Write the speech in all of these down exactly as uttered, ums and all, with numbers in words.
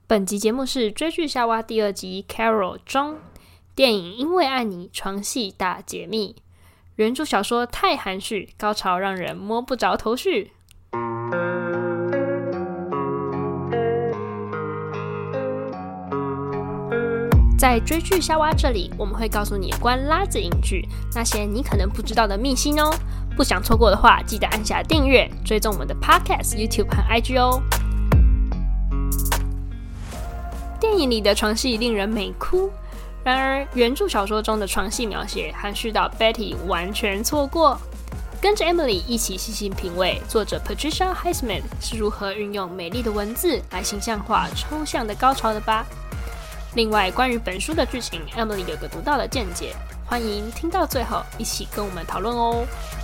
本集節目是追劇夏娃第二集 Carol 中電影《因為愛你》床戲大解密。原著小說太含蓄，高潮讓人摸不着頭緒。在追劇夏娃這裡，我們會告訴你關拉子影劇那些你可能不知道的秘辛哦。不想錯過的話，記得按下訂閱，追蹤我們的 Podcast、YouTube 和 I G 哦。電影裡的床戲令人美哭，然而原著小說中的床戲描寫含蓄到 Betty 完全錯過。跟着 Emily 一起細細品味作者 Patricia Highsmith 是如何運用美麗的文字來形象化抽象的高潮的吧。另外，關於本書的劇情 ，Emily 有個獨到的見解，歡迎聽到最後一起跟我們討論哦。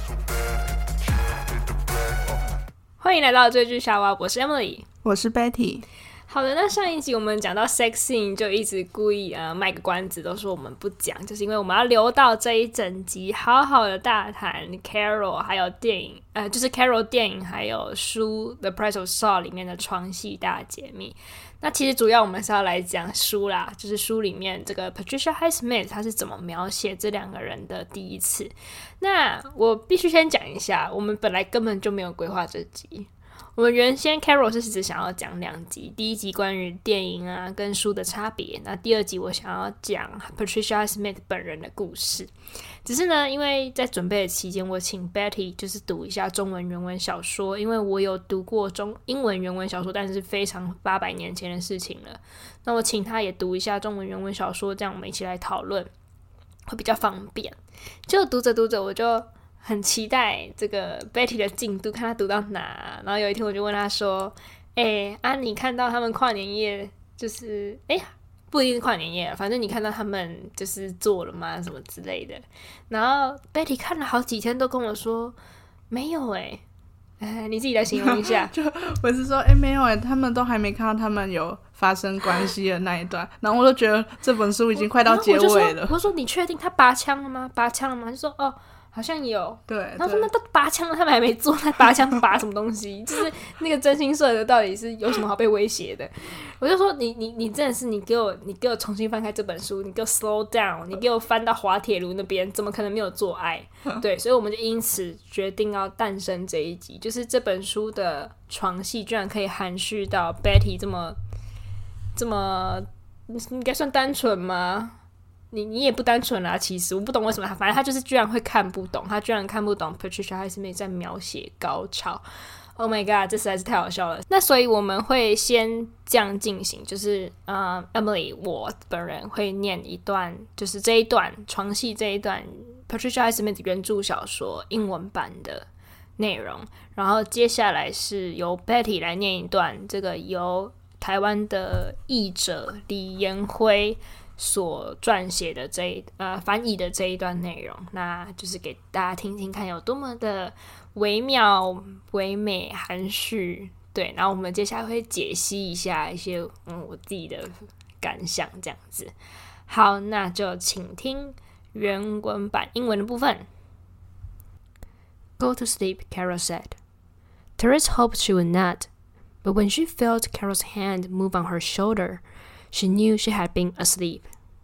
歡迎來到追劇夏娃，我是 Emily， 我是 Betty。 好的，那上一集我們講到 sex scene 就一直故意呃賣個關子，都說我們不講，就是因為我們要留到這一整集好好的大談 Carol 還有電影，呃，就是 Carol 電影還有書 The Price of Salt 裡面的床戲大解密。那其實主要我們是要來講書啦，就是書裡面這個 Patricia Highsmith 她是怎麼描寫這兩個人的第一次。那我必須先講一下，我們本來根本就沒有規劃這集。我們原先 Carol 是只想要講兩集，第一集關於電影啊跟書的差別，那第二集我想要講 Patricia Highsmith 本人的故事。只是呢，因為在準備的期間，我請 Betty 就是讀一下中文原文小說，因為我有讀過中英文原文小說，但是非常八百年前的事情了。那我請他也讀一下中文原文小說，這樣我們一起來討論會比較方便。就讀着讀着，我就很期待這個 Betty 的進度，看他讀到哪。然後有一天我就問他說：“哎、欸，啊，你看到他們跨年夜就是哎、欸，不一定是跨年夜，反正你看到他們就是做了嗎？什麼之類的。”然後 Betty 看了好幾天都跟我說：“沒有哎、欸，哎，你自己來形容一下。” 就我是說，哎、欸，沒有哎，他們都還沒看到他們有發生關係的那一段，然後我就覺得這本書已經快到結尾了。我就說， 我說你確定他拔槍了嗎？拔槍了嗎？就說哦。好像有， 對， 然後說那都拔槍了，他們還沒做，那拔槍拔什麼東西？就是那個真心社的到底是有什麼好被威脅的？我就說你你你真的是你給我你給我重新翻開這本書，你給我 slow down， 你給我翻到滑鐵盧那邊，怎麼可能沒有做愛？對，所以我們就因此決定要誕生這一集，就是這本書的床戲居然可以含蓄到 Betty 這麼這麼應該算單純嗎？你你也不單純啦，其實我不懂為什麼他，反正他就是居然會看不懂，他居然看不懂 Patricia Highsmith 在描寫高潮。Oh my god， 這實在是太好笑了。那所以我們會先這樣進行，就是呃 Emily 我本人會念一段，就是這一段床戲這一段 Patricia Highsmith 原著小說英文版的內容，然後接下來是由 Betty 來念一段，這個由台灣的譯者李延輝所撰寫的這一呃翻譯的這一段內容，那就是給大家聽聽看有多麼的微妙、唯美、含蓄。對，然後我們接下來會解析一下一些嗯我自己的感想，這樣子。好，那就請聽原文版英文的部分。Go to sleep, Carol said. Therese hoped she would not, but when she felt Carol's hand move on her shoulder, she knew she had been asleep.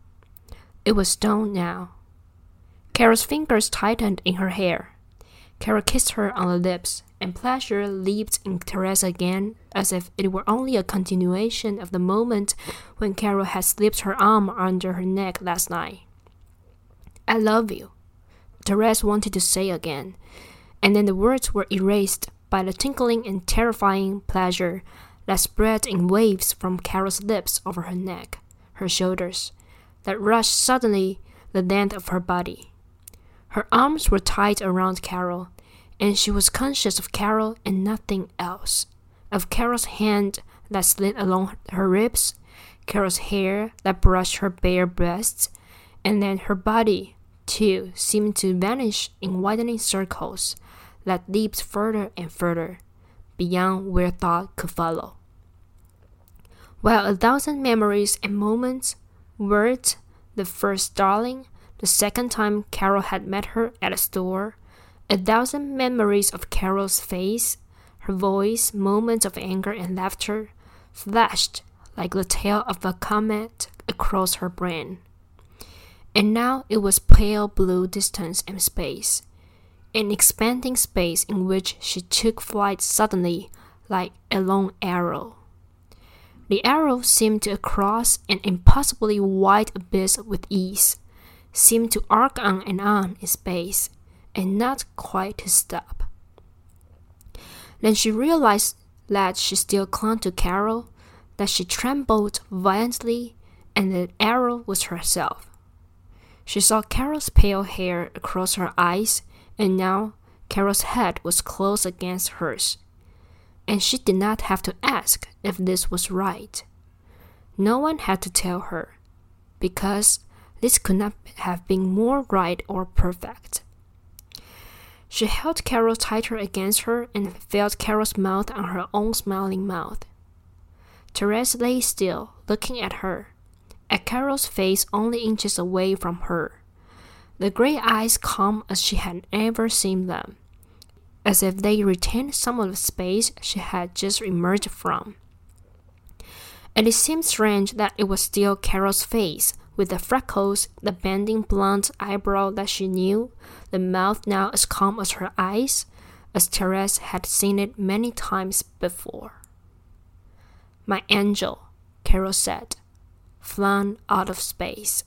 It was dawn now. Carol's fingers tightened in her hair. Carol kissed her on the lips, and pleasure leaped in Therese again, as if it were only a continuation of the moment when Carol had slipped her arm under her neck last night. I love you, Therese wanted to say again, and then the words were erased by the tinkling and terrifying pleasure that spread in waves from Carol's lips over her neck, her shoulders, that rushed suddenly the length of her body. Her arms were tight around Carol, and she was conscious of Carol and nothing else, of Carol's hand that slid along her ribs, Carol's hair that brushed her bare breasts, and then her body, too, seemed to vanish in widening circles that leaped further and further, beyond where thought could follow. While a thousand memories and moments were the first darling, the second time Carol had met her at a store, a thousand memories of Carol's face, her voice, moments of anger and laughter, flashed like the tail of a comet across her brain. And now it was pale blue distance and space, an expanding space in which she took flight suddenly like a long arrow. The arrow seemed to cross an impossibly wide abyss with ease, seemed to arc on and on in space, and not quite to stop. Then she realized that she still clung to Carol, that she trembled violently, and the arrow was herself. She saw Carol's pale hair across her eyes, and now Carol's head was close against hers. And she did not have to ask if this was right. No one had to tell her, because this could not have been more right or perfect. She held Carol tighter against her and felt Carol's mouth on her own smiling mouth. Therese lay still, looking at her, at Carol's face only inches away from her, the gray eyes calm as she had ever seen them, as if they retained some of the space she had just emerged from. And it seemed strange that it was still Carol's face, with the freckles, the bending blonde eyebrow that she knew, the mouth now as calm as her eyes, as Therese had seen it many times before. "My angel," Carol said, "flown out of space."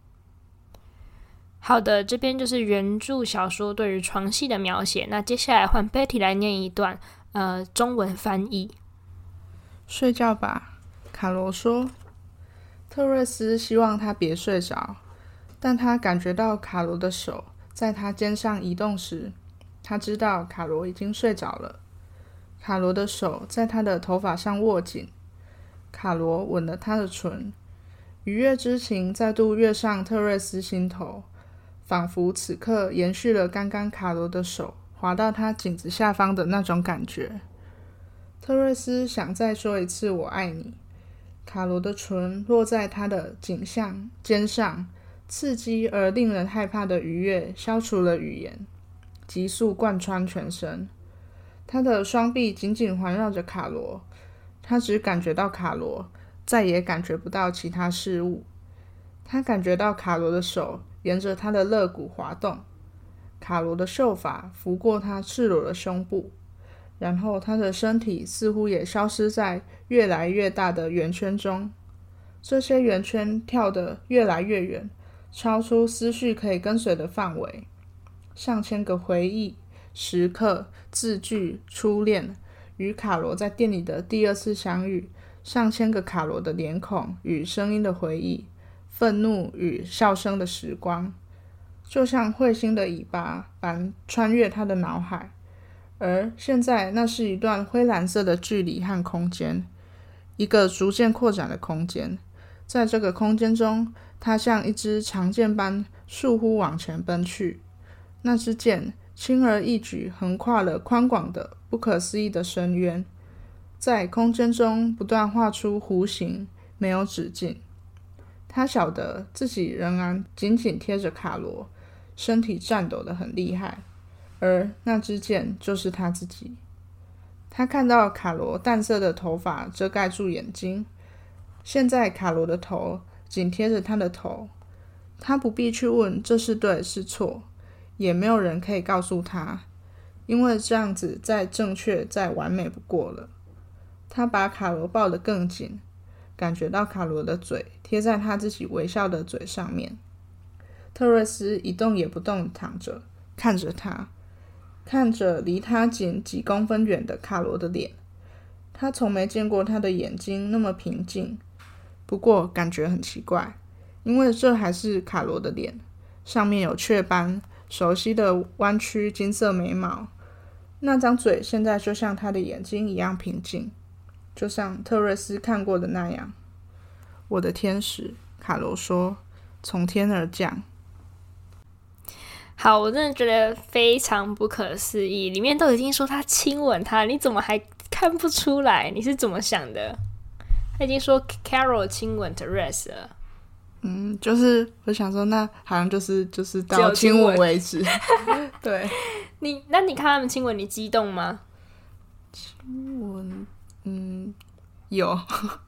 好的，这邊就是原著小說對於床戲的描寫。那接下來換 Betty 來念一段，呃，中文翻譯。 睡覺吧，卡羅說。特瑞斯希望他別睡着，但他感覺到卡羅的手在他肩上移動時，他知道卡羅已經睡着了。卡羅的手在他的頭髮上握緊，卡羅吻了他的唇，愉悅之情再度躍上特瑞斯心頭，仿佛此刻延續了剛剛卡羅的手滑到他頸子下方的那種感覺。特瑞斯想再說一次我愛你。卡羅的唇落在他的頸項肩上，刺激而令人害怕的愉悅消除了語言，急速貫穿全身。他的雙臂緊緊環繞着卡羅，他只感覺到卡羅，再也感覺不到其他事物。他感覺到卡羅的手沿着他的肋骨滑動，卡羅的秀髮拂過他赤裸的胸部，然後他的身體似乎也消失在越來越大的圓圈中，這些圓圈跳得越來越遠，超出思緒可以跟隨的範圍。上千個回憶、時刻、字句、初戀，與卡羅在店裡的第二次相遇，上千個卡羅的臉孔與聲音的回憶，憤怒與笑聲的時光，就像彗星的尾巴般穿越他的腦海。而現在那是一段灰藍色的距離和空間，一個逐漸擴展的空間。在這個空間中，它像一支長劍般倏忽往前奔去。那支劍輕而易舉橫跨了寬廣的不可思議的深淵，在空間中不斷畫出弧形，沒有止境。他曉得自己仍然緊緊貼着卡羅，身體顫抖得很厲害。而那支箭就是他自己。他看到卡羅淡色的頭髮遮蓋住眼睛，現在卡羅的頭緊貼着他的頭，他不必去問這是對是錯，也沒有人可以告訴他，因為這樣子再正確再完美不過了。他把卡羅抱得更緊，感覺到卡羅的嘴貼在他自己微笑的嘴上面。特瑞斯一動也不動躺着，看着他。看着離他僅幾公分遠的卡羅的臉，他從沒見過他的眼睛那麼平靜，不過感覺很奇怪，因為這還是卡羅的臉，上面有雀斑，熟悉的彎曲金色眉毛，那張嘴現在就像他的眼睛一樣平靜，就像特瑞斯看過的那樣。我的天使，卡羅說，從天而降。 好，我真的覺得非常不可思議，裡面都已經說他親吻他，你怎麼還看不出來？你是怎麼想的？他已經說 Carol 親吻 Therese 了。 嗯，就是我想說，那好像就是就是到親吻為止。對， 你那你看他們親吻，你激動嗎？ 親吻，嗯，有，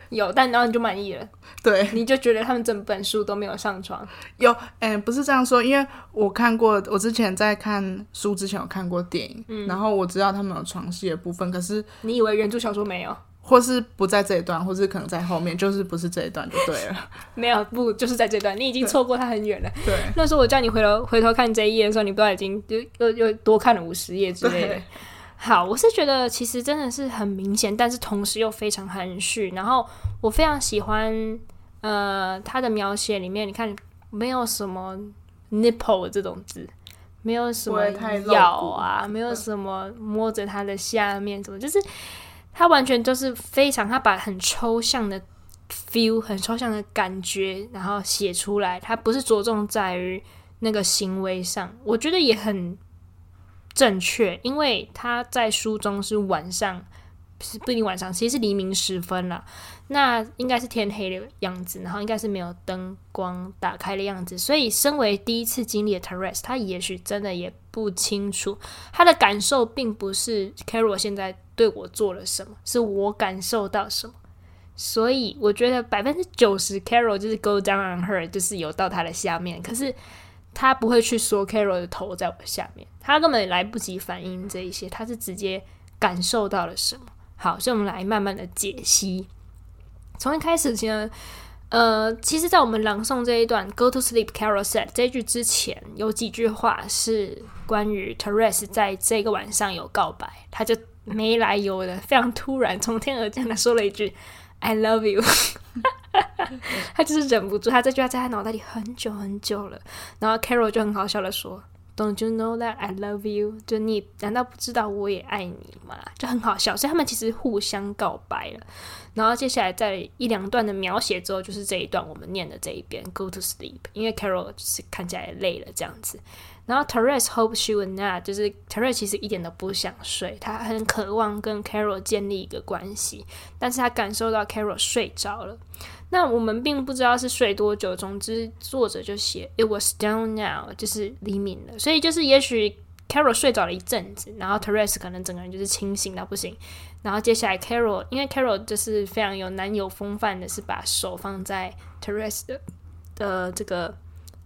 有，但然後你就滿意了， 對， 你就覺得他們整本書都沒有上床。 有，哎、欸，不是這樣說，因為我看過，我之前在看書之前有看過電影，嗯、然後我知道他們有床戲的部分，可是你以為原著小說沒有？ 或是不在這一段，或是可能在後面，就是不是這一段就對了。沒有，不就是在這段，你已經錯過它很遠了。 對， 那時候我叫你回頭回頭看這一頁的時候，你不知道已經就又又多看了五十頁之類的。好，我是覺得其實真的是很明顯，但是同時又非常含蓄。然後我非常喜歡呃他的描寫裡面，你看沒有什麼 nipple 這種字，沒有什麼咬啊，沒有什麼摸着他的下面，什麼就是。他完全就是非常，他把很抽象的 feel、很抽象的感覺，然後寫出來。他不是着重在於那個行為上，我覺得也很正確，因為他在書中是晚上，不一定晚上，其實是黎明時分啦。那應該是天黑的樣子，然後應該是沒有燈光打開的樣子。所以，身為第一次經歷的 Therese， 他也許真的也不清楚，他的感受並不是 Carol 現在對我做了什麼，是我感受到什麼。所以，我覺得百分之九十 Carol 就是 go down on her， 就是有到他的下面。可是，他不會去說 Carol 的頭在我下面，他根本來不及反應這一些，他是直接感受到了什麼。好，所以我們來慢慢的解析。從一開始呢，呃，其實，在我們朗誦這一段 "Go to sleep, Carol said" 這一句之前，有幾句話是關於 Therese 在這個晚上有告白，他就沒來由的、非常突然、從天而降的說了一句 "I love you"， 他就是忍不住，他這句話在他腦袋裡很久很久了。然後 Carol 就很好笑的說 "Don't you know that I love you"， 就你難道不知道我也愛你嗎？就很好笑，所以他們其實互相告白了。然後接下來在一兩段的描寫之後，就是這一段我們念的這一邊 "Go to sleep"， 因為 Carol 就是看起來累了這樣子。然後 Therese hoped she would not， 就是 Therese 其實一點都不想睡，他很渴望跟 Carol 建立一個關係，但是他感受到 Carol 睡着了。那我們並不知道是睡多久，總之作者就寫 "It was dawn now"， 就是黎明了，所以就是也許 Carol 睡着了一陣子，然後 Therese 可能整個人就是清醒到不行。然後接下來 Carol， 因為 Carol 就是非常有男友風範的，是把手放在 Therese 的的這個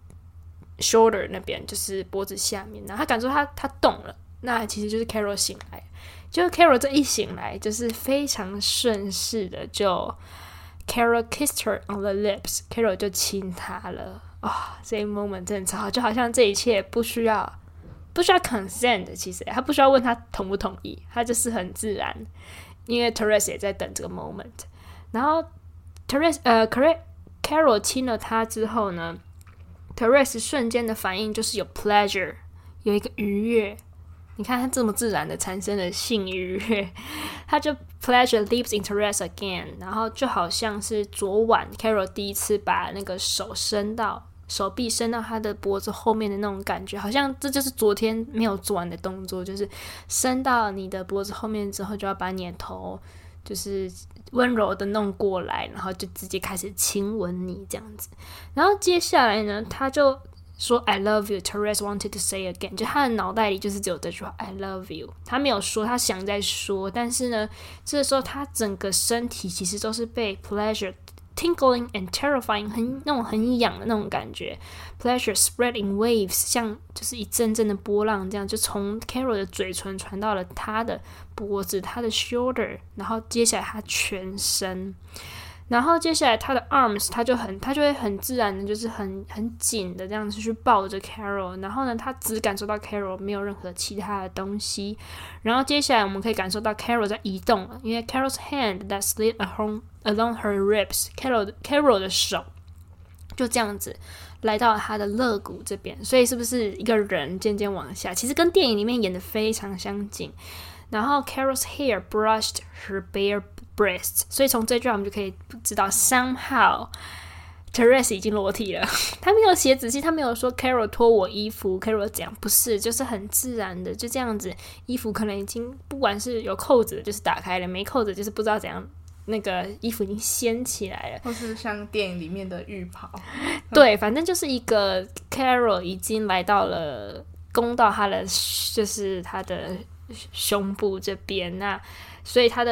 shoulder 那邊，就是脖子下面，然後他感受他他動了，那其實就是 Carol 醒來，就 Carol 這一醒來，就是非常順勢的就 Carol kissed her on the lips， Carol 就親他了啊、哦，這一 moment 真的超好，就好像這一切不需要。不需要 consent 的，其實他不需要問他同不同意，他就是很自然，因為 Therese 也在等這個 moment。然後 Therese 呃 Carol 親了他之後呢 ，Therese 瞬間的反應就是有 pleasure， 有一個愉悅。你看他這麼自然的產生了性愉悅，他就 pleasure leaps in Therese again， 然後就好像是昨晚 Carol 第一次把那個手伸到。手臂伸到他的脖子後面的那種感覺，好像這就是昨天沒有做完的動作，就是伸到你的脖子後面之後，就要把你的頭就是溫柔的弄過來，然後就直接開始親吻你這樣子。然後接下來呢，他就說 I love you， Therese wanted to say again， 就他的腦袋裡就是只有這句話 I love you， 他沒有說，他想再說，但是呢，這個時候他整個身體其實都是被 pleasure tingling and terrifying， 很那種很癢的那種感覺 ，pleasure spread in waves， 像就是一陣陣的波浪這樣，就從 Carol 的嘴唇傳到了他的脖子，他的 shoulder， 然後接下來他全身，然後接下來他的 arms， 他就很他就會很自然的，就是很很緊的這樣子去抱着 Carol， 然後呢，他只感受到 Carol， 沒有任何其他的東西，然後接下來我們可以感受到 Carol 在移動了，因為 Carol's hand that slid along along her ribs，Carol Carol 的手就這樣子來到他的肋骨這邊，所以是不是一個人漸漸往下？其實跟電影裡面演的非常相近。然後 Carol's hair brushed her bare breasts， 所以從這句話我們就可以知道 somehow Therese 已經裸體了。他沒有寫仔細，他沒有說 Carol 脫我衣服 Carol 怎樣，不是，就是很自然的就這樣子，衣服可能已經不管是有扣子的就是打開了，沒扣子就是不知道怎樣，那個衣服已經掀起來了， 或是像電影裡面的浴袍。 對，反正就是一個 Carol 已經來到了攻到他的就是他的胸部這邊，那所以他的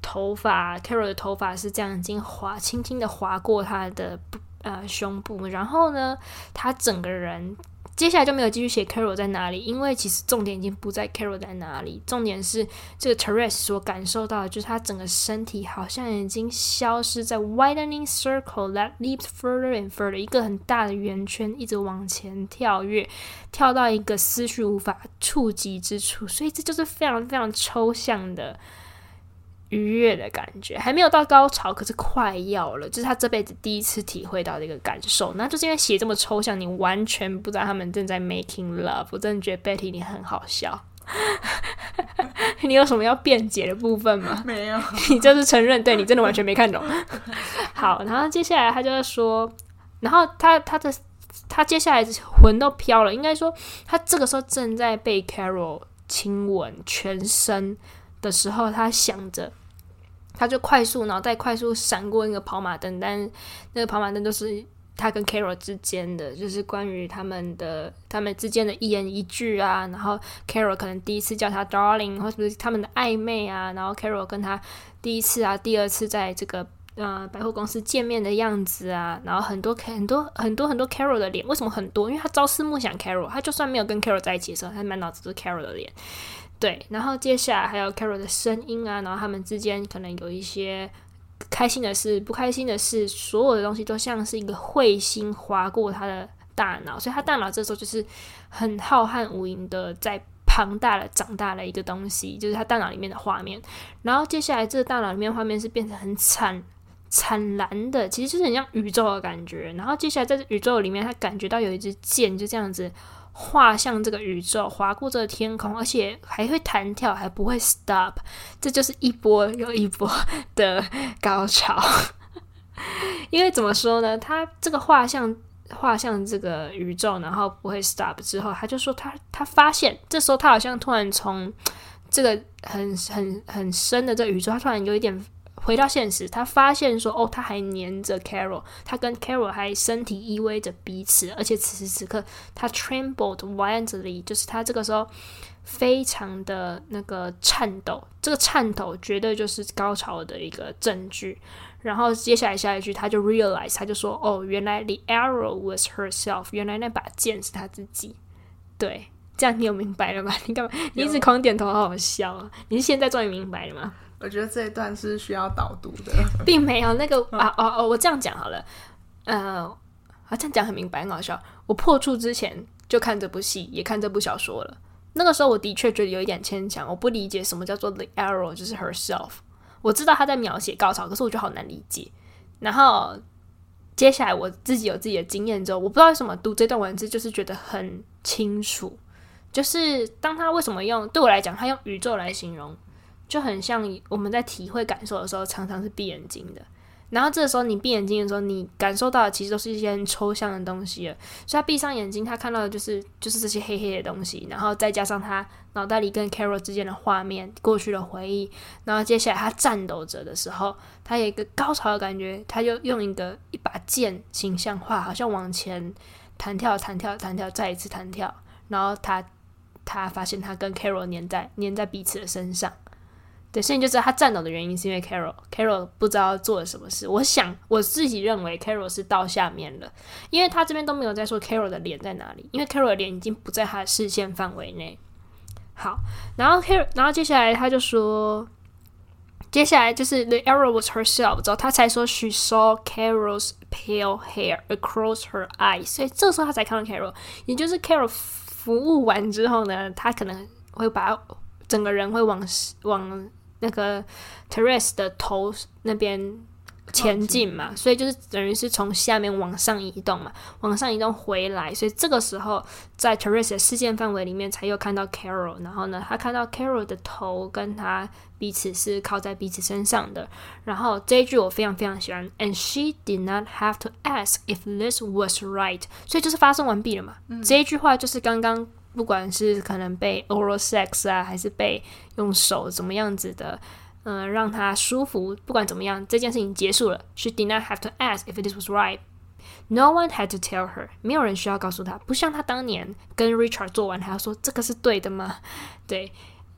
頭髮 Carol 的頭髮是這樣已經滑輕輕的滑過他的呃胸部，然後呢，他整個人接下來就沒有繼續寫 Carol 在哪裡，因為其實重點已經不在 Carol 在哪裡，重點是這個 Therese 所感受到的就是他整個身體好像已經消失在 widening circle that leaps further and further 一個很大的圓圈，一直往前跳躍，跳到一個思緒無法觸及之處，所以這就是非常非常抽象的愉悅的感覺，還沒有到高潮，可是快要了，就是他這輩子第一次體會到這個感受。那就是因為寫這麼抽象，你完全不知道他們正在 making love。我真的覺得 Betty 你很好笑。你有什麼要辯解的部分嗎？ 沒有， 你就是承認，對，你真的完全沒看懂。好，然後接下來他就是說，然後他他的他接下來魂都飄了，應該說他這個時候正在被 Carol 親吻全身的時候，他想着。他就快速腦袋快速閃過那個跑馬燈，但那個跑馬燈都是他跟 Carol 之間的，就是關於他們的他們之間的一言一句啊，然後 Carol 可能第一次叫他 darling， 或者是他們的曖昧啊，然後 Carol 跟他第一次啊、第二次在這個呃百貨公司見面的樣子啊，然後很多很多很多很多 Carol 的臉，為什麼很多？因為他朝思暮想 Carol， 他就算沒有跟 Carol 在一起的時候，他滿腦子都是 Carol 的臉。對，然後接下來還有 Carol 的聲音啊，然後他們之間可能有一些開心的事、不開心的事，所有的東西都像是一個彗星劃過他的大腦，所以他大腦這時候就是很浩瀚無垠的在龐大的長大的一個東西，就是他大腦裡面的畫面。然後接下來這個大腦裡面畫面是變成很慘慘藍的，其實就是很像宇宙的感覺。然後接下來在這宇宙裡面，他感覺到有一支箭就這樣子畫向這個宇宙，劃過這個天空，而且還會彈跳，還不會 stop， 這就是一波又一波的高潮。因為怎麼說呢，他這個畫向畫向這個宇宙，然後不會 stop 之後，他就說他他發現，這時候他好像突然從這個很很很深的這個宇宙，他突然有一點回到現實，他發現說，哦，他還黏着 Carol， 他跟 Carol 還身體依偎着彼此，而且此時此刻他 trembled violently， 就是他這個時候非常的那個顫抖，這個顫抖絕對就是高潮的一個證據。然後接下來下一句，他就 realize， 他就說，哦，原來 the arrow was herself， 原來那把劍是他自己。对，這樣你有明白了嗎？你幹嘛？你一直狂點頭，好好笑啊！你是現在終於明白了嗎？ 我覺得這一段是需要導讀的， 並沒有那個啊哦哦，我這樣講好了，呃，啊這樣講很明白，很好笑。我破處之前就看這部戲，也看這部小說了。那個時候我的確覺得有一點牽強，我不理解什麼叫做 the arrow， 就是 herself。我知道他在描寫高潮，可是我覺得好難理解。然後接下來我自己有自己的經驗之後，我不知道為什麼讀這段文字就是覺得很清楚，就是當他為什麼用，對我來講，他用宇宙來形容。就很像我們在體會感受的時候，常常是閉眼睛的。然後這個時候你閉眼睛的時候，你感受到的其實都是一些很抽象的東西了。所以他閉上眼睛，他看到的就是就是這些黑黑的東西，然後再加上他腦袋裡跟 Carol 之間的畫面、過去的回憶。然後接下來他顫抖着的時候，他有一個高潮的感覺，他就用一個一把劍形象化，好像往前彈跳、彈跳、彈跳，再一次彈跳。然後他他發現他跟 Carol 黏在黏在彼此的身上。對，所以你就知道他顫抖的原因是因為 Carol，Carol 不知道做了什麼事。我想我自己認為 Carol 是到下面了，因為他這邊都沒有在說 Carol 的臉在哪裡，因為 Carol 的臉已經不在他的視線範圍內。好，然後 Carol， 然後接下來他就說，接下來就是 the arrow was herself， 之後他才說 she saw Carol's pale hair across her eyes， 所以這時候他才看到 Carol， 也就是 Carol 服務完之後呢，他可能會把整個人會往往那個 Therese 的頭那邊前進嘛，所以就是等於是從下面往上移動嘛，往上移動回來，所以這個時候在 Therese 的視線範圍裡面才又看到 Carol， 然後呢，他看到 Carol 的頭跟他彼此是靠在彼此身上的，然後這一句我非常非常喜歡 ，and she did not have to ask if this was right， 所以就是發生完畢了嘛，嗯、這一句話就是剛剛。不管是可能被 oral sex 啊，還是被用手怎麼樣子的，嗯、呃，讓他舒服，不管怎麼樣，這件事情結束了。She did not have to ask if this was right. No one had to tell her. 沒有人需要告訴他，不像他當年跟 Richard 做完，還要說這個是對的嗎？對，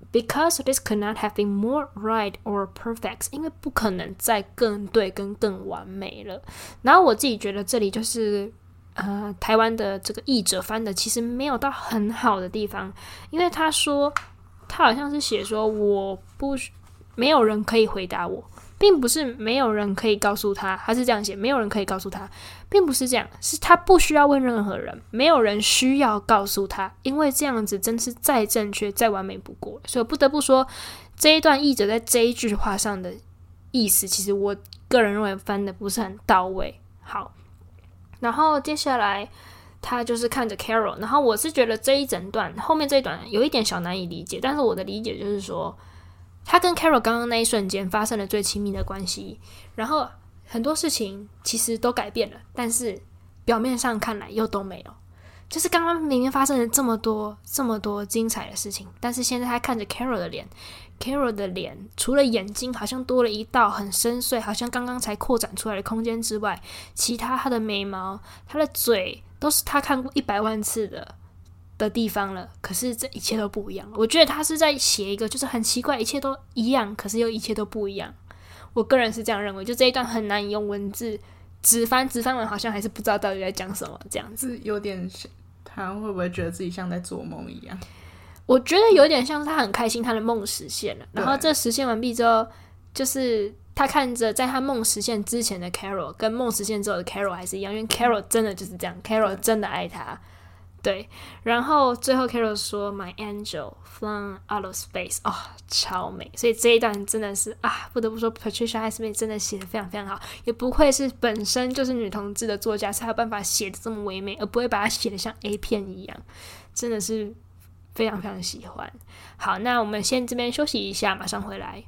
Because this could not have been more right or perfect， 因為不可能再更對跟更完美了。然後我自己覺得這裡就是呃台灣的這個譯者翻的其實沒有到很好的地方，因為他說他好像是寫說我不沒有人可以回答我，並不是沒有人可以告訴他，他是這樣寫，沒有人可以告訴他，並不是這樣，是他不需要問任何人，沒有人需要告訴他，因為這樣子真是再正確再完美不過。所以我不得不說，這一段譯者在這一句話上的意思，其實我個人認為翻的不是很到位。好，然後接下來他就是看着 Carol， 然後我是覺得這一整段後面這一段有一點小難以理解，但是我的理解就是說，他跟 Carol 剛剛那一瞬間發生了最親密的關係，然後很多事情其實都改變了，但是表面上看來又都沒有。就是剛剛明明發生了這麼多這麼多精彩的事情，但是現在他看着 Carol 的臉， Carol 的臉除了眼睛好像多了一道很深邃，好像剛剛才擴展出來的空間之外，其他他的眉毛、他的嘴都是他看過一百萬次的的地方了，可是這一切都不一樣。我覺得他是在寫一個就是很奇怪，一切都一樣，可是又一切都不一樣。我個人是這樣認為，就這一段很難以用文字直翻，直翻完好像還是不知道到底在講什麼，這樣子有點像，他會不會覺得自己像在做夢一樣？ 我覺得有點像是他很開心他的夢實現了，然後這實現完畢之後，就是他看着在他夢實現之前的 Carol 跟夢實現之後的 Carol 還是一樣，因為 Carol 真的就是這樣， Carol 真的愛他。對，然後最後 Carol 說 My angel flown out of space， 哦，超美。所以這一段真的是啊，不得不說 Patricia Highsmith 真的寫得非常非常好，也不愧是本身就是女同志的作家，才有辦法寫得這麼唯美，而不會把它寫得像 A 片一樣，真的是非常非常喜歡。好，那我們先這邊休息一下，馬上回來。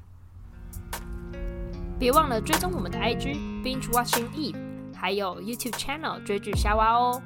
別忘了追蹤我們的 I G Binge Watching Eve， 還有 YouTube Channel 追劇夏娃哦。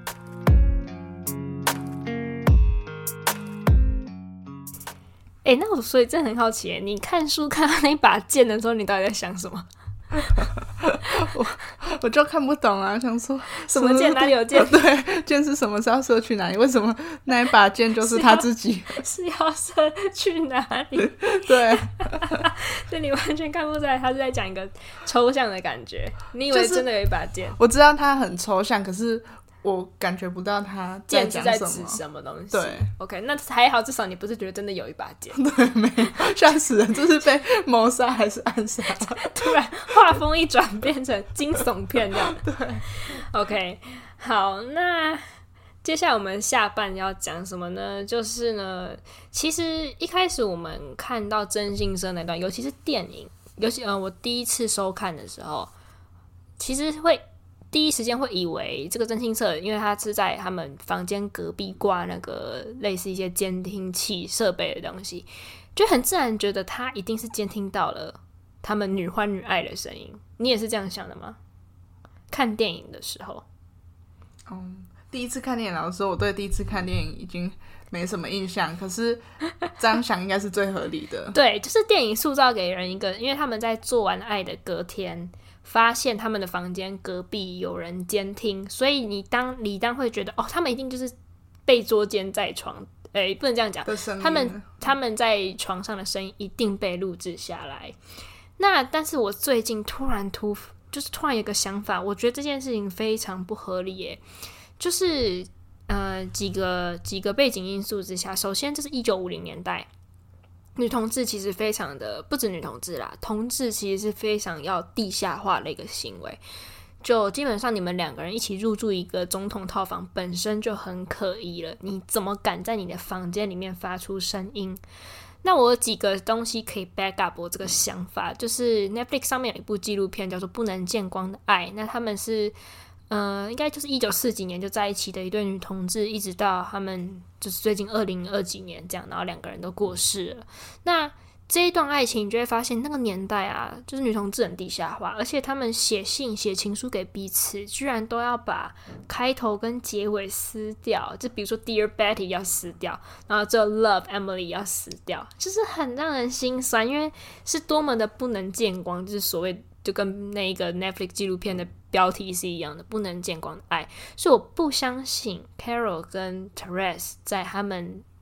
哎、欸，那我所以真的很好奇，你看書看到那把劍的時候，你到底在想什麼？ 我我就看不懂啊，想說什麼劍哪裡有劍？ 對，劍是什麼？是要射去哪裡？為什麼那一把劍就是他自己？ 是要，是要射去哪裡？ 對， 所以你完全看不出來，他是在講一個抽象的感覺。你以為真的有一把劍？ 就是、我知道它很抽象，可是我感覺不到他在講什麼， 劍是在指什麼東西。 對 ，OK， 那還好，至少你不是覺得真的有一把劍。 對，沒有，嚇死人！這是被謀殺還是暗殺？ 突然畫風一轉，變成驚悚片這樣。 對 ，OK， 好，那接下來我們下半要講什麼呢？就是呢，其實一開始我們看到徵信社那段，尤其是電影，尤其呃，我第一次收看的時候，其實會。第一時間會以為這個徵信社，因為他是在他們房間隔壁掛那個類似一些監聽器設備的東西，就很自然覺得他一定是監聽到了他們女歡女愛的聲音。你也是這樣想的嗎？看電影的時候， 嗯，第一次看電影，老實說，我對第一次看電影已經沒什麼印象，可是這樣想應該是最合理的。 對，就是電影塑造給人一個，因為他們在做完愛的隔天，發現他們的房間隔壁有人監聽，所以你當你當會覺得哦，他們一定就是被捉姦在床，誒，不能這樣講，他們他們在床上的聲音一定被錄製下來。那但是我最近突然突就是突然有個想法，我覺得這件事情非常不合理耶，就是呃幾個幾個背景因素之下，首先這是一九五零年代。女同志其實非常的，不止女同志啦，同志其實是非常要地下化的一個行為。就基本上你們兩個人一起入住一個總統套房，本身就很可疑了。你怎麼敢在你的房間裡面發出聲音？那我有幾個東西可以 back up 我這個想法，就是 Netflix 上面有一部紀錄片叫做《不能見光的愛》，那他們是。呃，應該就是一九四幾年就在一起的一對女同志，一直到他們就是最近二零二幾年這樣，然後兩個人都過世了。那這一段愛情，你就會發現那個年代啊，就是女同志很地下化，而且他們寫信、寫情書給彼此，居然都要把開頭跟結尾撕掉，就比如說 Dear Betty 要撕掉，然後只有 Love Emily 要撕掉，就是很讓人心酸，因為是多麼的不能見光，就是所謂就跟那個 Netflix 紀錄片的標題是一樣的，不能見光的愛。所以我不相信 Carol 跟 Therese 在他們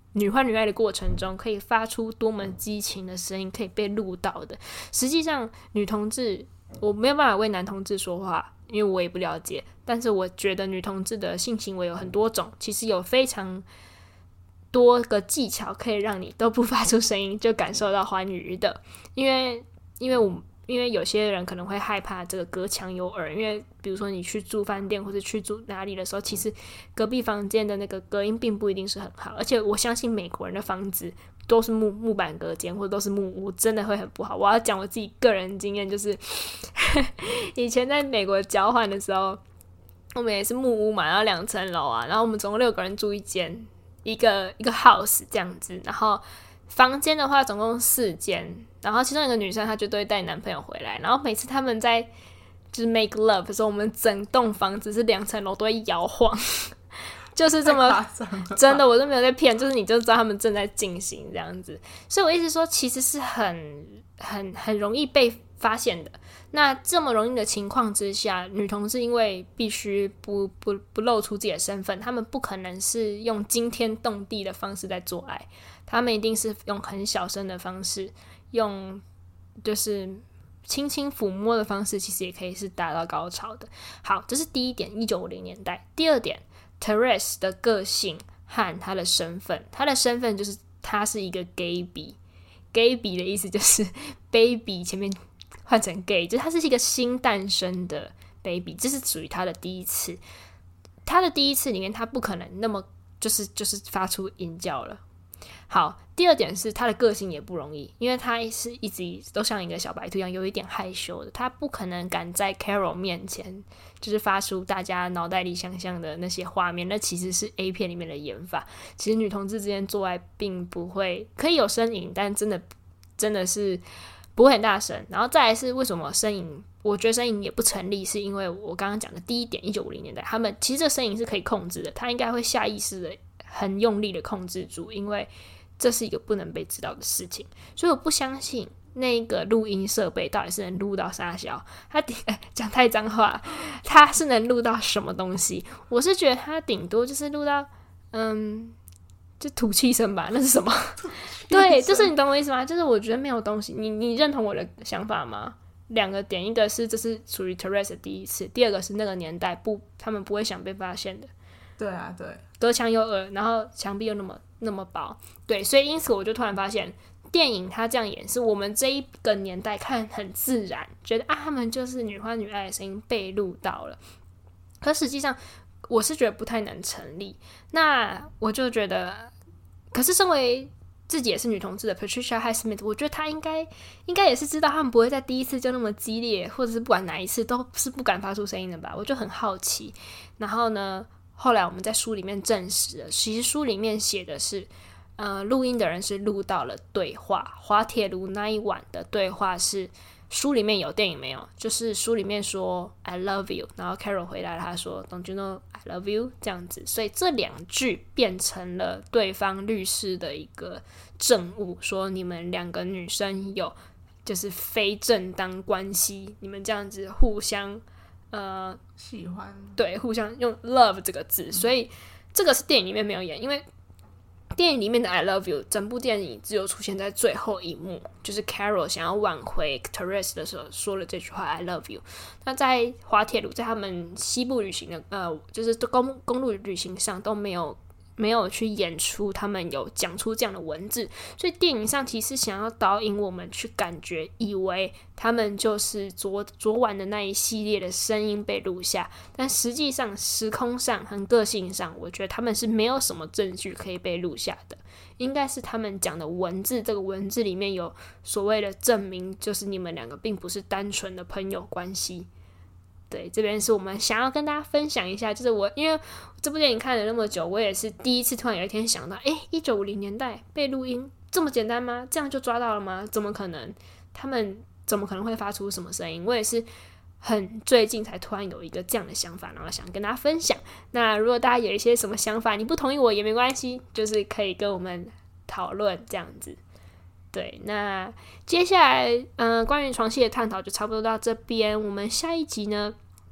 女歡女愛的過程中，可以發出多麼激情的聲音，可以被錄到的。實際上，女同志我沒有辦法為男同志說話，因為我也不了解。但是我覺得女同志的性行為有很多種，其實有非常多個技巧可以讓你都不發出聲音就感受到歡愉的。因為，因為我。因為有些人可能會害怕這個隔牆有耳，因為比如說你去住飯店或者去住哪裡的時候，其實隔壁房間的那個隔音並不一定是很好，而且我相信美國人的房子都是木木板隔間或者都是木屋，真的會很不好。我要講我自己個人經驗，就是以前在美國交換的時候，我們也是木屋嘛，然後兩層樓啊，然後我們總共六個人住一間，一個一個 house 這樣子，然後房間的話總共四間，然後其中一個女生她就都會帶男朋友回來，然後每次他們在就是 make love 的時候，我們整棟房子是兩層樓都會搖晃，就是這麼真的，我都沒有在騙，就是你就知道他們正在進行這樣子。所以我一直說，其實是很很很容易被發現的。那這麼容易的情況之下，女同志因為必須不不不露出自己的身份，他們不可能是用驚天動地的方式在做愛，他們一定是用很小聲的方式，用就是輕輕撫摸的方式，其實也可以是達到高潮的。好，這是第一點，一九五零年代。第二點 Therese 的個性和他的身份，他的身份就是他是一個 gay-bi， gay-bi 的意思就是 baby 前面換成 gay， 就是他是一個新誕生的 baby， 這是屬於他的第一次。他的第一次裡面，他不可能那麼就是就是發出淫叫了。好，第二點是他的個性也不容易，因為他是一直都像一個小白兔一樣，有一點害羞的，他不可能敢在 Carol 面前就是發出大家腦袋裡想象的那些畫面，那其實是 A 片裡面的演法。其實女同志之間做愛並不會可以有呻吟，但真的真的是不會很大聲。然後再來是為什麼呻吟，我覺得呻吟也不成立，是因為我剛剛講的第一點，一九五零年代他們其實這呻吟是可以控制的，他應該會下意識的很用力的控制住，因為這是一個不能被知道的事情，所以我不相信那個錄音設備到底是能錄到啥小，他頂講、欸、太髒話，他是能錄到什麼東西？我是覺得他頂多就是錄到嗯，就吐氣聲吧，那是什麼？對，就是你懂我意思嗎？就是我覺得沒有東西，你你認同我的想法嗎？兩個點，一個是這是屬於 Therese 的第一次，第二個是那個年代不，他們不會想被發現的。 對啊，對， 隔牆有耳，然後牆壁又那麼那麼薄，對，所以因此我就突然發現，電影它這樣演是我們這一個年代看很自然，覺得啊，他們就是女歡女愛的聲音被錄到了，可實際上我是覺得不太能成立。那我就覺得，可是身為自己也是女同志的 Patricia Highsmith， 我覺得她應該應該也是知道他們不會在第一次就那麼激烈，或者是不管哪一次都是不敢發出聲音的吧，我就很好奇。然後呢，後來我們在書裡面證實了，其實書裡面寫的是，呃，錄音的人是錄到了對話，滑鐵盧那一晚的對話是書裡面有，電影沒有，就是書裡面說 I love you， 然後 Carol 回來了，他說 Don't you know I love you 這樣子，所以這兩句變成了對方律師的一個證物，說你們兩個女生有就是非正當關係，你們這樣子互相呃喜歡，對， 互相用 love 這個字，所以這個是電影裡面沒有演，因為電影裡面的 I love you 整部電影只有出現在最後一幕，就是 Carol 想要挽回 Therese 的時候說了這句話 I love you。那在滑鐵盧，在他們西部旅行的呃，就是公公路旅行上都沒有沒有去演出他們有講出這樣的文字，所以電影上其實想要導引我們去感覺，以為他們就是昨昨晚的那一系列的聲音被錄下，但實際上時空上和個性上，我覺得他們是沒有什麼證據可以被錄下的，應該是他們講的文字，這個文字裡面有所謂的證明，就是你們兩個並不是單純的朋友關係。對，這邊是我們想要跟大家分享一下，就是我因為這部電影看了那麼久，我也是第一次突然有一天想到，誒，一九五零年代被錄音這麼簡單嗎？這樣就抓到了嗎？怎麼可能？他們怎麼可能會發出什麼聲音？我也是很最近才突然有一個這樣的想法，然後想跟大家分享。那如果大家有一些什麼想法，你不同意我也沒關係，就是可以跟我們討論這樣子。對，那接下來，嗯、呃，關於床戲的探討就差不多到這邊。我們下一集呢，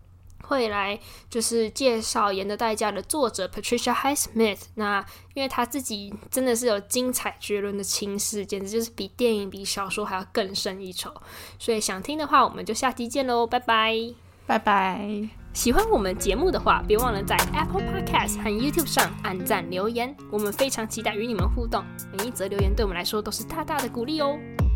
會來就是介紹《鹽的代價》的作者 Patricia Highsmith。那因為他自己真的是有精彩絕倫的情史，簡直就是比電影比小說還要更勝一籌。所以想聽的話，我們就下集見嘍，拜拜， 拜拜。 喜歡我們節目的話，別忘了在 Apple Podcast 和 YouTube 上按讚留言，我們非常期待與你們互動。每一則留言對我們來說都是大大的鼓勵哦。